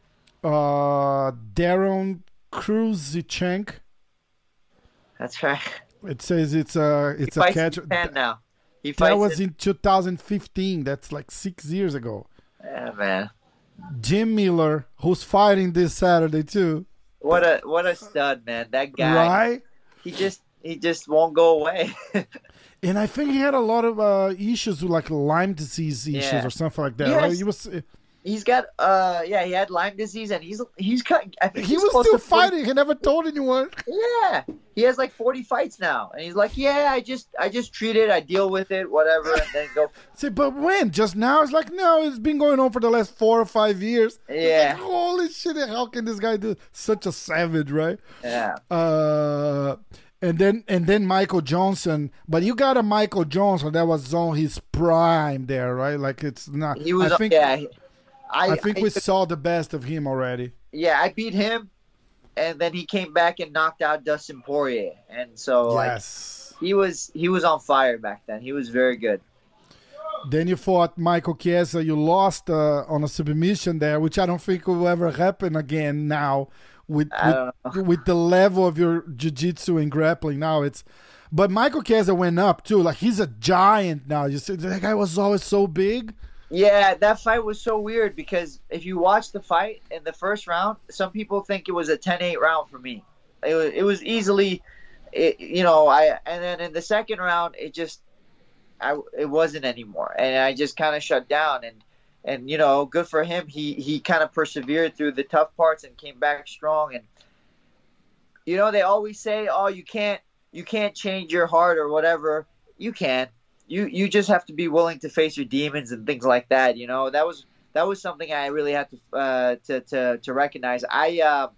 Uh, Darren Kruzichenk. That's right. It says it's a it's He a fights catch. in Japan now. He That fights was in, in two thousand fifteen. That's like six years ago. yeah, man. Jim Miller, who's fighting this Saturday too, What a what a stud, man. That guy. right? He just he just won't go away. And I think he had a lot of uh, issues with like Lyme disease issues Yeah. or something like that. Yes. Right? He was He's got uh yeah, he had Lyme disease and he's he's cut I think he he's was close still to forty fighting. He never told anyone. Yeah. He has like forty fights now. And he's like, yeah, I just I just treat it, I deal with it, whatever, and then go Say, but when? Just now? It's like no, it's been going on for the last four or five years. It's Yeah. like, holy shit! How can this guy do such a savage, right? Yeah. Uh, and then and then Michael Johnson, but you got a Michael Johnson that was on his prime there, right? Like it's not. He was I think yeah. he- I, I think I- we saw the best of him already. yeah, I beat him and then he came back and knocked out Dustin Poirier. And so like Yes. he was he was on fire back then. He was very good. Then you fought Michael Chiesa. You lost uh, on a submission there, which I don't think will ever happen again now with I don't with, know. with the level of your jiu-jitsu and grappling now. It's but Michael Chiesa went up too. Like he's a giant now. You see, that guy was always so big. Yeah, that fight was so weird because if you watch the fight in the first round, some people think it was a ten eight round for me. It was, it was easily, it, you know, I and then in the second round, it just, I it wasn't anymore, and I just kind of shut down. And and you know, good for him. He he kind of persevered through the tough parts and came back strong. And you know, they always say, oh, you can't you can't change your heart or whatever. You can. You you just have to be willing to face your demons and things like that. You know, that was that was something I really had to uh, to, to to recognize. I uh,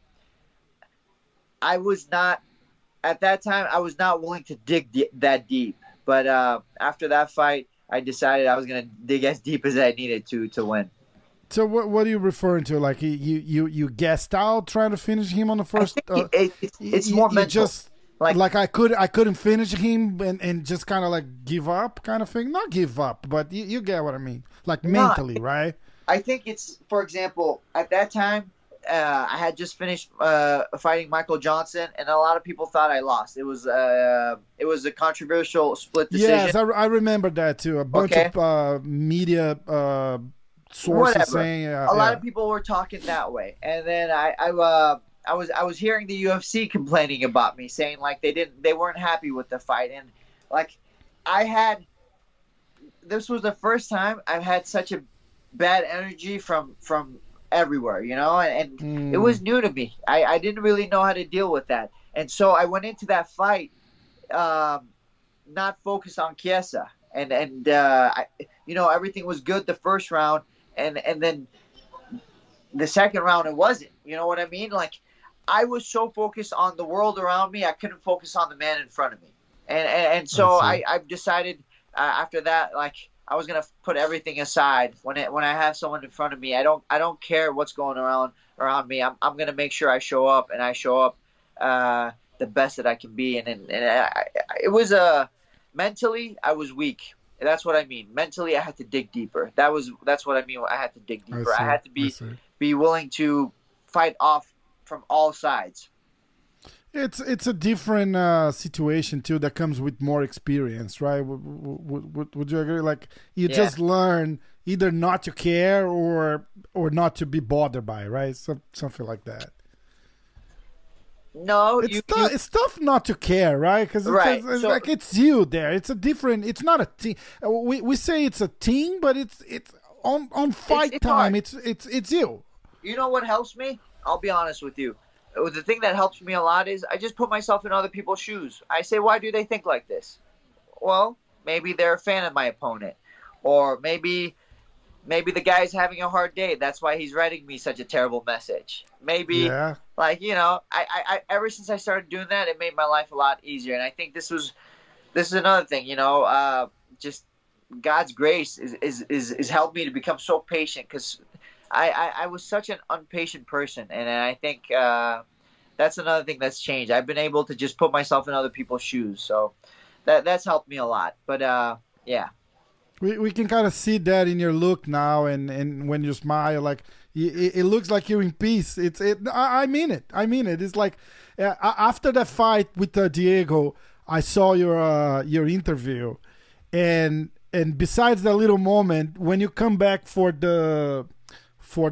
I was not at that time. I was not willing to dig di- that deep. But uh, after that fight, I decided I was gonna dig as deep as I needed to to win. So what what are you referring to? Like you you you gassed out trying to finish him on the first? I think uh, it, it's, it's you, more you mental. Just, Like, like I could I couldn't finish him and, and just kind of like give up kind of thing. Not give up, but you, you get what I mean. Like mentally, no, right? I think it's, for example, at that time, uh, I had just finished uh, fighting Michael Johnson, and a lot of people thought I lost. It was uh, it was a controversial split decision. Yes, I, I remember that too. A bunch okay. of uh, media uh, sources Whatever. saying uh, a lot yeah. of people were talking that way, and then I I. Uh, I was I was hearing the U F C complaining about me, saying like they didn't they weren't happy with the fight, and like I had this was the first time I've had such a bad energy from from everywhere, you know, and, and mm. it was new to me. I, I didn't really know how to deal with that, and so I went into that fight um, not focused on Chiesa, and and uh, I, you know, everything was good the first round, and and then the second round it wasn't. You know what I mean? Like. I was so focused on the world around me, I couldn't focus on the man in front of me. And and, and so I, I decided uh, after that, like, I was going to put everything aside. When it, when I have someone in front of me, I don't I don't care what's going around around me. I'm I'm going to make sure I show up, and I show up uh, the best that I can be. And, and, and I, it was a, mentally, I was weak. That's what I mean. Mentally, I had to dig deeper. That was That's what I mean. I had to dig deeper. I, I had to be be willing to fight off from all sides. It's it's a different uh, situation too that comes with more experience, right? Would, would, would, would you agree? Like you yeah. just learn either not to care or or not to be bothered by, right? So, something like that. No, it's you, tough. you... It's tough not to care, right? Because it's, right. it's, it's so, like it's you there. It's a different. It's not a team. We we say it's a team, but it's it's on on fight it's, it's time. hard. It's it's it's you. You know what helps me? I'll be honest with you. The thing that helps me a lot is I just put myself in other people's shoes. I say, why do they think like this? Well, maybe they're a fan of my opponent, or maybe maybe the guy's having a hard day. That's why he's writing me such a terrible message. Maybe, yeah. like you know, I, I, I ever since I started doing that, it made my life a lot easier. And I think this was this is another thing. You know, uh, just God's grace is is is, is helped me to become so patient, because I, I, I was such an impatient person, and I think uh, that's another thing that's changed. I've been able to just put myself in other people's shoes, so that that's helped me a lot. But uh, yeah, we we can kind of see that in your look now, and, and when you smile, like it, it looks like you're in peace. It's it. I, I mean it. I mean it. It's like uh, after that fight with uh, Diego, I saw your uh, your interview, and and besides that little moment when you come back for the. For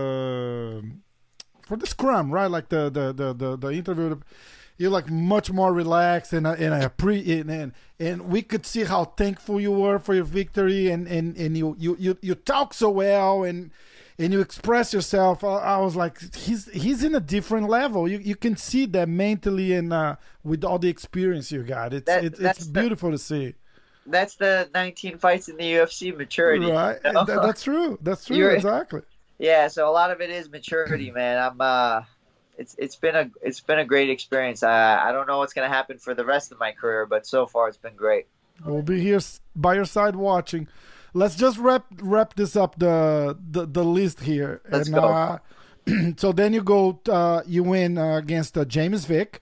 the for the scrum, right? Like the the the the, the interview, you're like much more relaxed, and and I pre and, and and we could see how thankful you were for your victory, and and and you you you, you talk so well, and and you express yourself. I, I was like, he's he's in a different level. You you can see that mentally, and uh, with all the experience you got, it's that, it, it's beautiful the, to see. That's the nineteen fights in the U F C maturity, right? You know? that, that's true. That's true. You're, exactly. Yeah, so a lot of it is maturity, man. I'm uh it's it's been a it's been a great experience. I I don't know what's going to happen for the rest of my career, but so far it's been great. We'll be here by your side watching. Let's just wrap wrap this up the the, the list here. Let's and, go. Uh, so then you go uh, you win uh, against uh, James Vick.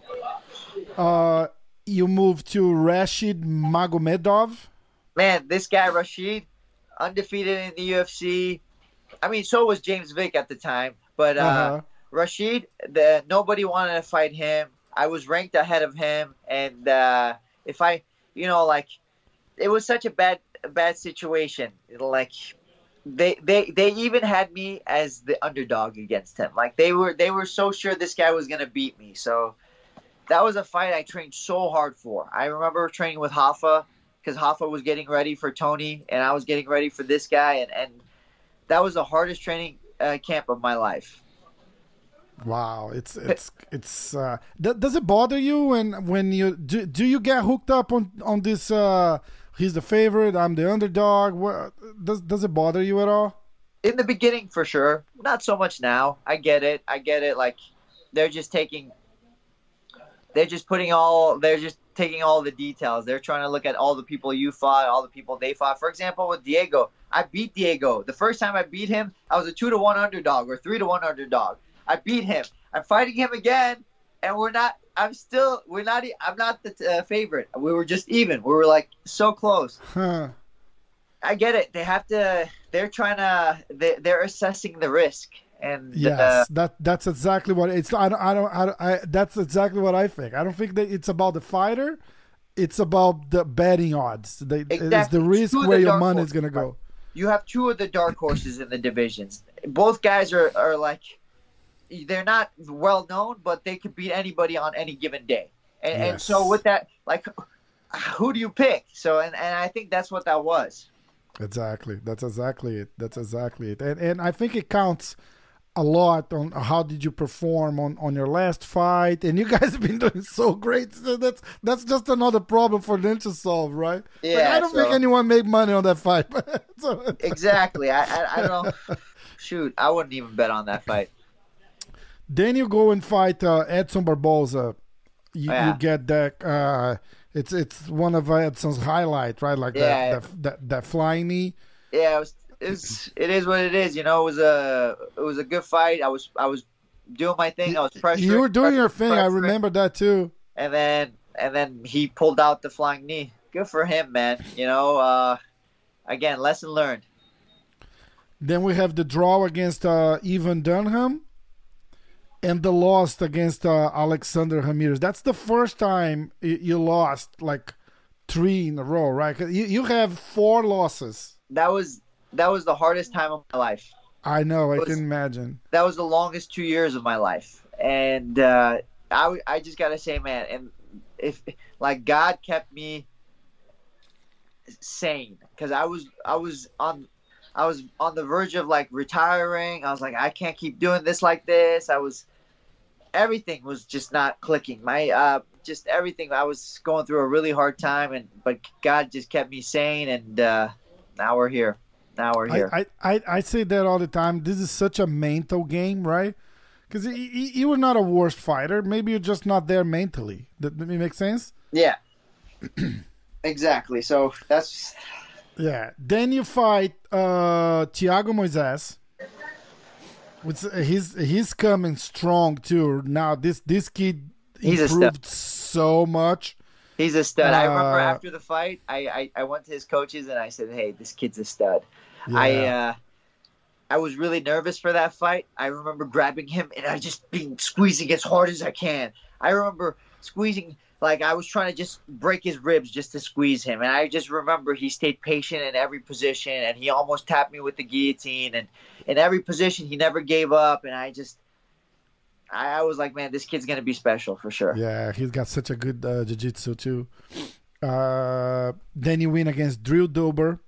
Uh you move to Rashid Magomedov. Man, this guy Rashid, undefeated in the U F C. I mean, so was James Vick at the time, but uh, Uh-huh. Rashid, the nobody wanted to fight him. I was ranked ahead of him, and uh, if I, you know, like it was such a bad bad situation. Like they they they even had me as the underdog against him. Like they were they were so sure this guy was gonna beat me. So that was a fight I trained so hard for. I remember training with Hoffa because Hoffa was getting ready for Tony, and I was getting ready for this guy, and, and that was the hardest training uh, camp of my life. Wow, it's it's it's. Uh, th- does it bother you when when you do? Do you get hooked up on on this? Uh, he's the favorite. I'm the underdog. What, does does it bother you at all? In the beginning, for sure. Not so much now. I get it. I get it. Like they're just taking. They're just putting all. They're just taking all the details. They're trying to look at all the people you fought, all the people they fought. For example, with Diego, I beat Diego. The first time I beat him, I was a two to one underdog or three to one underdog. I beat him. I'm fighting him again, and we're not. I'm still. We're not. I'm not the uh, favorite. We were just even. We were like so close. Huh. I get it. They have to. They're trying to. They, they're assessing the risk, and yes, uh, that that's exactly what it's. I don't. I don't. I, don't, I. That's exactly what I think. I don't think that it's about the fighter. It's about the betting odds. They, exactly. It's the risk it's where your money is gonna go. You have two of the dark horses in the divisions. Both guys are are like. They're not well known, but they could beat anybody on any given day. And, yes. and so with that, like, who do you pick? So, and, and I think that's what that was. Exactly. That's exactly it. That's exactly it. And and I think it counts a lot on how did you perform on, on your last fight. And you guys have been doing so great. So that's that's just another problem for them to solve, right? Yeah. Like, I don't so, think anyone made money on that fight. so, exactly. I, I I don't know. Shoot, I wouldn't even bet on that fight. Then you go and fight uh, Edson Barboza. You, yeah. you get that. Uh, it's it's one of Edson's highlight, right? Like yeah. that, that that that flying knee. Yeah, it was. It's it is what it is. You know, it was a it was a good fight. I was I was doing my thing. I was pressuring. You were doing your thing. Pressuring. I remember that too. And then and then he pulled out the flying knee. Good for him, man. You know, uh, again, lesson learned. Then we have the draw against uh, Ivan Dunham. And the loss against uh, Alexander Ramirez. That's the first time you lost like three in a row, right? You you have four losses. That was that was the hardest time of my life. I know. I was, can imagine. That was the longest two years of my life, and uh, I I just gotta say, man, and if like God kept me sane because I was I was on. I was on the verge of like retiring. I was like, I can't keep doing this like this. I was, everything was just not clicking. My, uh, just everything. I was going through a really hard time, and but God just kept me sane, and uh, now we're here. Now we're here. I, I, I say that all the time. This is such a mental game, right? Because you were not a worse fighter. Maybe you're just not there mentally. That, that make sense? Yeah. Exactly. So that's. Yeah. Then you fight uh, Thiago Moises. Which, uh, he's he's coming strong too. Now this this kid he's improved so much. He's a stud. Uh, I remember after the fight, I, I, I went to his coaches and I said, "Hey, this kid's a stud." Yeah. I uh, I was really nervous for that fight. I remember grabbing him and I just been squeezing as hard as I can. I remember squeezing. Like, I was trying to just break his ribs just to squeeze him. And I just remember he stayed patient in every position. And he almost tapped me with the guillotine. And in every position, he never gave up. And I just, I, I was like, man, this kid's going to be special for sure. Yeah, he's got such a good uh, jiu-jitsu, too. Uh, then you win against Drew Dober.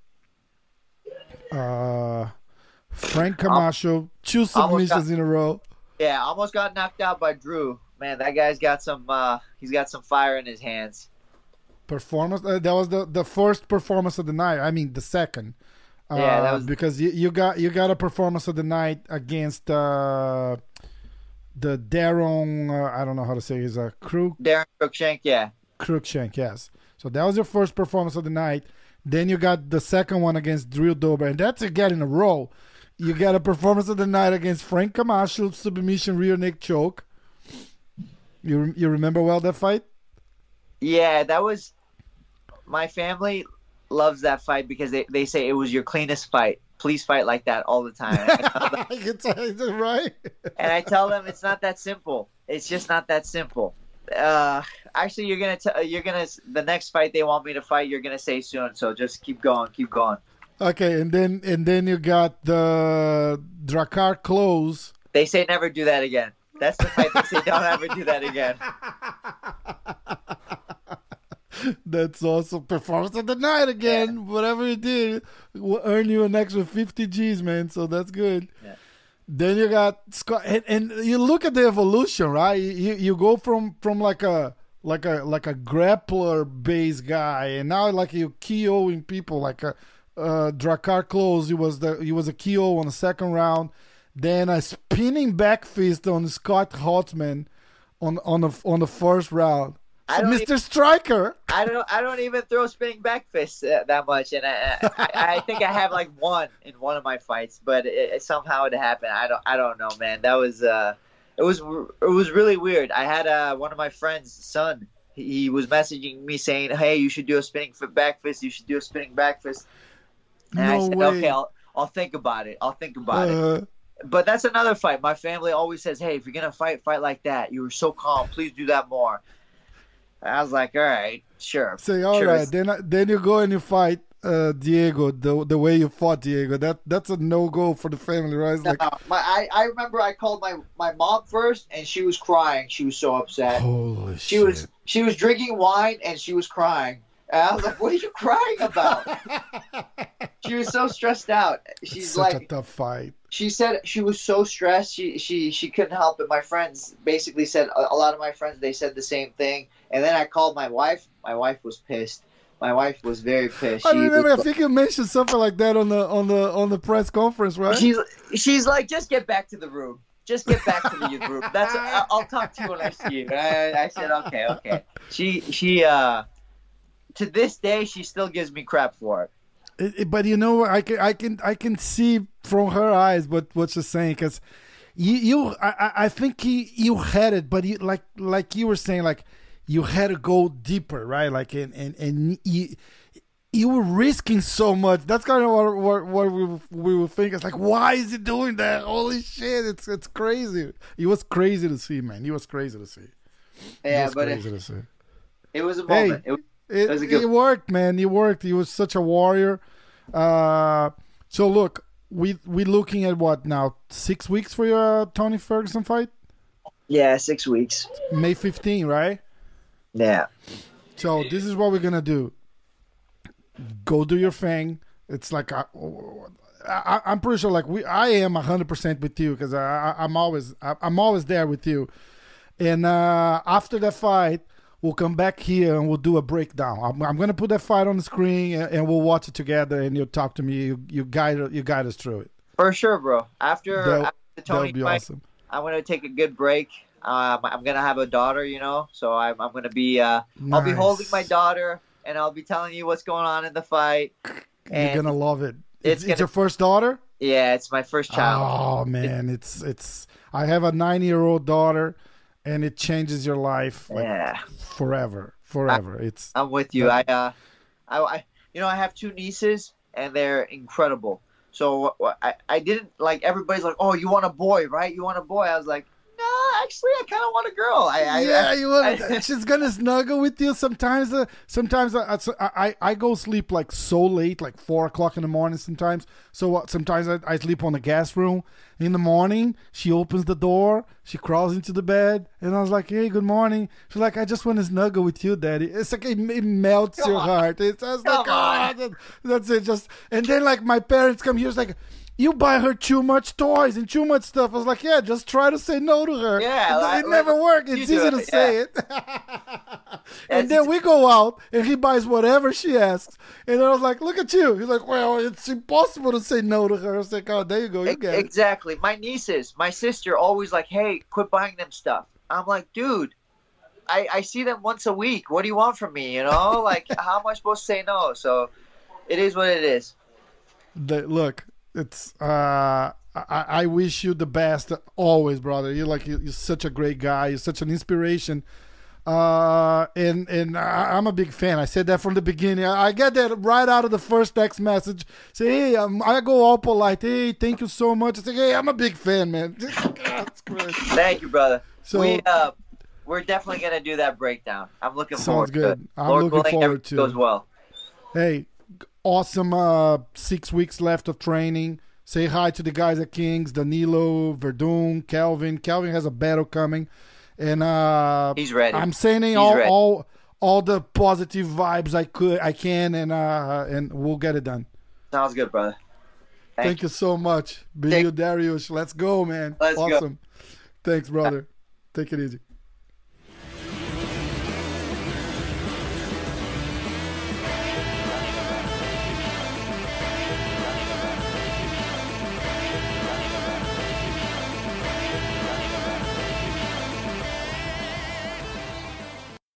Uh, Frank Camacho. Two submissions got, in a row. Yeah, almost got knocked out by Drew. Man, that guy's got some. Uh, he's got some fire in his hands. Performance. Uh, that was the, the first performance of the night. I mean, the second. Uh, yeah, that was because you, you got you got a performance of the night against uh, the Darren. Uh, I don't know how to say his uh, Crook. Darren Cruikshank, yeah. Cruikshank, yes. So that was your first performance of the night. Then you got the second one against Drew Dober, and that's again in a row. You got a performance of the night against Frank Camacho, submission rear neck choke. You you remember well that fight? Yeah, that was. My family loves that fight because they, they say it was your cleanest fight. please fight like that all the time. It's right. And I tell them it's not that simple. It's just not that simple. Uh, actually, you're gonna t- you're gonna the next fight they want me to fight, you're gonna say soon. So just keep going, keep going. Okay, and then and then you got the Drakkar Klose. They say never do that again. That's the fight they say don't ever do that again. That's awesome. Performance of the night again. Yeah. Whatever you did will earn you an extra fifty G's, man. So that's good. Yeah. Then you got Scott, and, and you look at the evolution, right? You you go from from like a like a like a grappler based guy, and now like you KOing people like a uh, Drakkar Klose. He was the he was a K O on the second round. Then a spinning back fist on Scott Holtzman on on the on the first round. So Mister Even, Striker. I don't. I don't even throw spinning back fists uh, that much, and I, I, I think I have like one in one of my fights, but it, it, somehow it happened. I don't. I don't know, man. That was. Uh, it was. It was really weird. I had uh, one of my friends' son. He, he was messaging me saying, "Hey, you should do a spinning back fist. You should do a spinning back fist." And no I said, way. "Okay, I'll. I'll think about it. I'll think about uh, it." But that's another fight. My family always says, "Hey, if you're gonna fight, fight like that. You were so calm. Please do that more." I was like, all right, sure. Say, all sure. right. Then then you go and you fight uh, Diego the the way you fought Diego. That that's a no go for the family, right? It's no, like, my I, I remember I called my, my mom first, and she was crying. She was so upset. Holy she shit. was she was drinking wine and she was crying. And I was like, what are you crying about? She was so stressed out. She's it's such like, a tough fight. She said she was so stressed. She she she couldn't help it. My friends basically said a, a lot of my friends they said the same thing. And then I called my wife. My wife was pissed. My wife was very pissed. I she remember. was, I think you mentioned something like that on the on the on the press conference, right? She's she's like, just get back to the room. Just get back to the room. That's I, I'll talk to you when I see you. I, I said okay, okay. She she uh, to this day she still gives me crap for it. It, it, but you know, I can, I can, I can see from her eyes what, what she's saying, because you, you, I, I think he, you had it, but you, like, like you were saying, like you had to go deeper, right? Like, and and, and you, you were risking so much. That's kind of what, what, what we, we were thinking. It's like, why is he doing that? Holy shit! It's, it's crazy. It was crazy to see, man. It was crazy to see. Yeah, it was but crazy it, to see. It was a moment. Hey, it, It, it, good... it worked, man. It worked. He was such a warrior. Uh, so look, we we looking at what now? Six weeks for your uh, Tony Ferguson fight? Yeah, six weeks. May fifteenth, right? Yeah. So this is what we're gonna do. Go do your thing. It's like I, I, I'm pretty sure. Like we, I am a hundred percent with you because I, I, I'm always, I, I'm always there with you. And uh, after that fight, we'll come back here and we'll do a breakdown. I'm, I'm going to put that fight on the screen and, and we'll watch it together. And you'll talk to me. You, you guide, you guide us through it. For sure, bro. After, that'll, after the Tony that'll be fight, awesome. I'm going to take a good break. Um, I'm going to have a daughter, you know, so I'm, I'm going to be, uh, nice. I'll be holding my daughter and I'll be telling you what's going on in the fight. You're going to love it. It's, It's, gonna, it's your first daughter? Yeah, it's my first child. Oh man, it's, it's, I have a nine year old daughter and it changes your life. Like, yeah. Forever, forever. I, it's, I'm with you. I, uh, I, I, you know, I have two nieces and they're incredible. So I, I didn't like everybody's like, oh, you want a boy, right? You want a boy? I was like, no, actually, I kind of want a girl. I, I yeah, I, you want. I, she's gonna snuggle with you sometimes. Uh, sometimes I, I I go sleep like so late, like four o'clock in the morning. Sometimes, so uh, sometimes I, I sleep on the guest room. In the morning, she opens the door, she crawls into the bed, and I was like, "Hey, good morning." She's like, "I just want to snuggle with you, Daddy." It's like it, it melts Come your on. heart. It's just like, oh, that's it. Just and then like my parents come here, it's like, you buy her too much toys and too much stuff. I was like, yeah, just try to say no to her. Yeah, it, like, it never works. It's easy it, to say yeah. it. And then we go out and he buys whatever she asks. And I was like, look at you. He's like, well, it's impossible to say no to her. I was like, oh, there you go. You get exactly. It. My nieces, my sister always like, hey, quit buying them stuff. I'm like, dude, I, I see them once a week. What do you want from me? You know, like, how am I supposed to say no? So it is what it is. The, look. It's uh I, I wish you the best always, brother. You're like you're such a great guy. You're such an inspiration. Uh uh, and and I, I'm a big fan. I said that from the beginning. I, I get that right out of the first text message. Say, hey, um, I go all polite. Hey, thank you so much. I say, hey, I'm a big fan, man. That's great. Thank you, brother. So we uh, we're definitely gonna do that breakdown. I'm looking forward sounds good. to it. I'm Lord looking willing, forward to goes it. well. Hey, awesome uh, six weeks left of training. Say hi to the guys at Kings, Danilo, Verdun, Calvin. Calvin has a battle coming. And uh, he's ready. I'm sending He's all, ready. all all the positive vibes I could I can and uh, and we'll get it done. Sounds good, brother. Thank, Thank you so much. Benio Dariush. Let's go, man. Let's awesome. go. Thanks, brother. Take it easy.